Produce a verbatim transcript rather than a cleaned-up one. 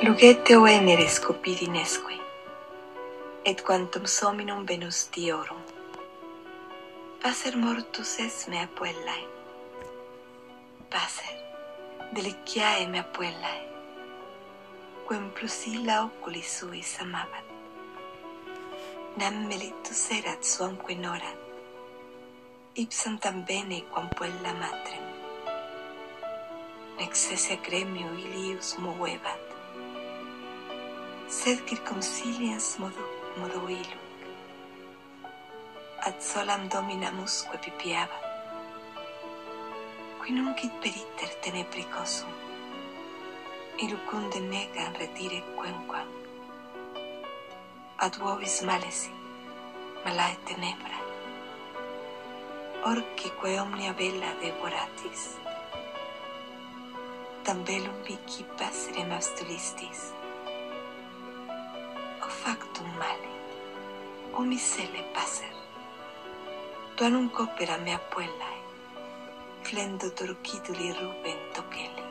Lugete o enere scopidinesque, et quantum sominum venus diorum. Pacer mortus es mea puellae, pacer deliciae mea puellae, quem plus illa oculi suis amabat. Nam melitus erat suamque norat, ipsam tam bene quam puella matrem. Nec sese gremio ilius movebat, sed circumsiliens modo, modo iluc, ad solam dominamusque pipiabat, qui nuncit periter tenebricosum, ilucunde negam retire quenquam, ad vovis malesi, malae tenebra, orcique omnia bella devoratis, tam bellum mihi passerem abstulistis, o factum male, o miscele passer, tuanum copera mea puellae, flendo turciduli rubent oceli.